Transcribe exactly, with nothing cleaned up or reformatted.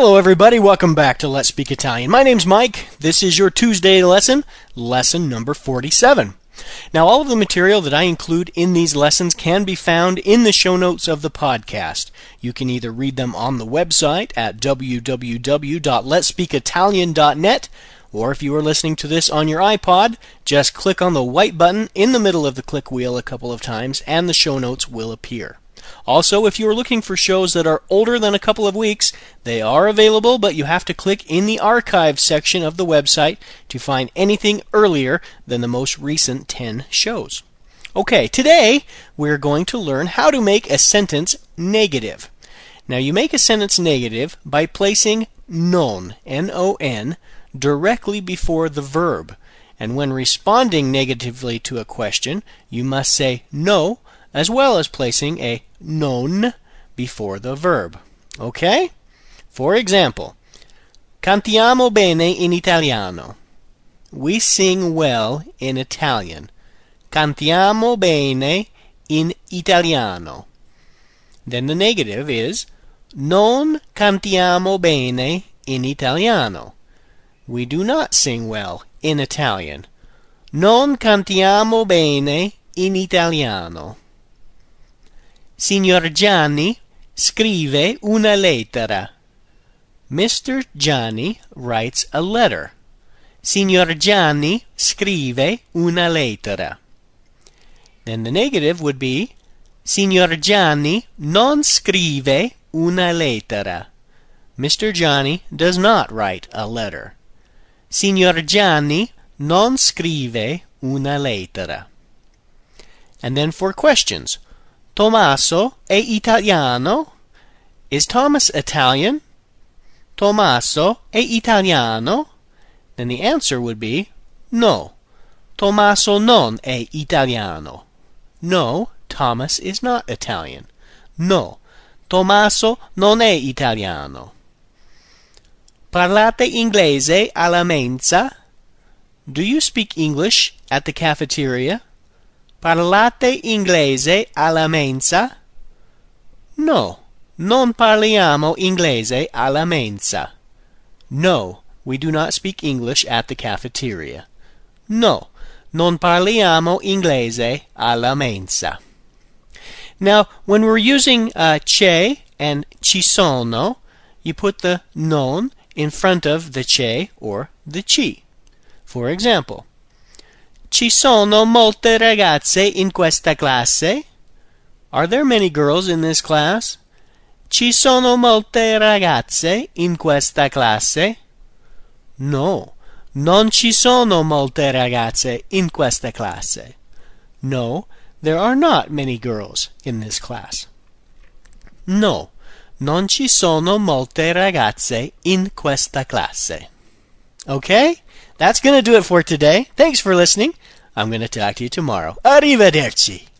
Hello everybody, welcome back to Let's Speak Italian. My name's Mike. This is your Tuesday lesson, lesson number forty-seven. Now all of the material that I include in these lessons can be found in the show notes of the podcast. You can either read them on the website at w w w dot lets speak italian dot net, or if you are listening to this on your iPod, just click on the white button in the middle of the click wheel a couple of times and the show notes will appear. Also, if you are looking for shows that are older than a couple of weeks, they are available, but you have to click in the archive section of the website to find anything earlier than the most recent ten shows. Okay, today we're going to learn how to make a sentence negative. Now, you make a sentence negative by placing non, N O N, directly before the verb. And when responding negatively to a question, you must say no, as well as placing a non before the verb. Okay? For example, cantiamo bene in italiano. We sing well in Italian. Cantiamo bene in italiano. Then the negative is non cantiamo bene in italiano. We do not sing well in Italian. Non cantiamo bene in italiano. Signor Gianni scrive una lettera. Mister Gianni writes a letter. Signor Gianni scrive una lettera. Then the negative would be Signor Gianni non scrive una lettera. Mister Gianni does not write a letter. Signor Gianni non scrive una lettera. And then for questions. Tommaso è italiano? Is Thomas Italian? Tommaso è italiano? Then the answer would be no. Tommaso non è italiano. No, Thomas is not Italian. No, Tommaso non è italiano. Parlate inglese alla mensa? Do you speak English at the cafeteria? Parlate inglese alla mensa? No, non parliamo inglese alla mensa. No, we do not speak English at the cafeteria. No, non parliamo inglese alla mensa. Now, when we're using uh, c'è and ci sono, you put the non in front of the c'è or the ci. For example, ci sono molte ragazze in questa classe? Are there many girls in this class? Ci sono molte ragazze in questa classe? No, non ci sono molte ragazze in questa classe. No, there are not many girls in this class. No, non ci sono molte ragazze in questa classe. Okay? That's going to do it for today. Thanks for listening. I'm going to talk to you tomorrow. Arrivederci.